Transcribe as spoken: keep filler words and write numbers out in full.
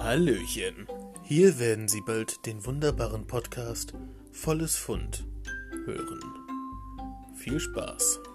Hallöchen, hier werden Sie bald den wunderbaren Podcast Volles Fund hören. Viel Spaß!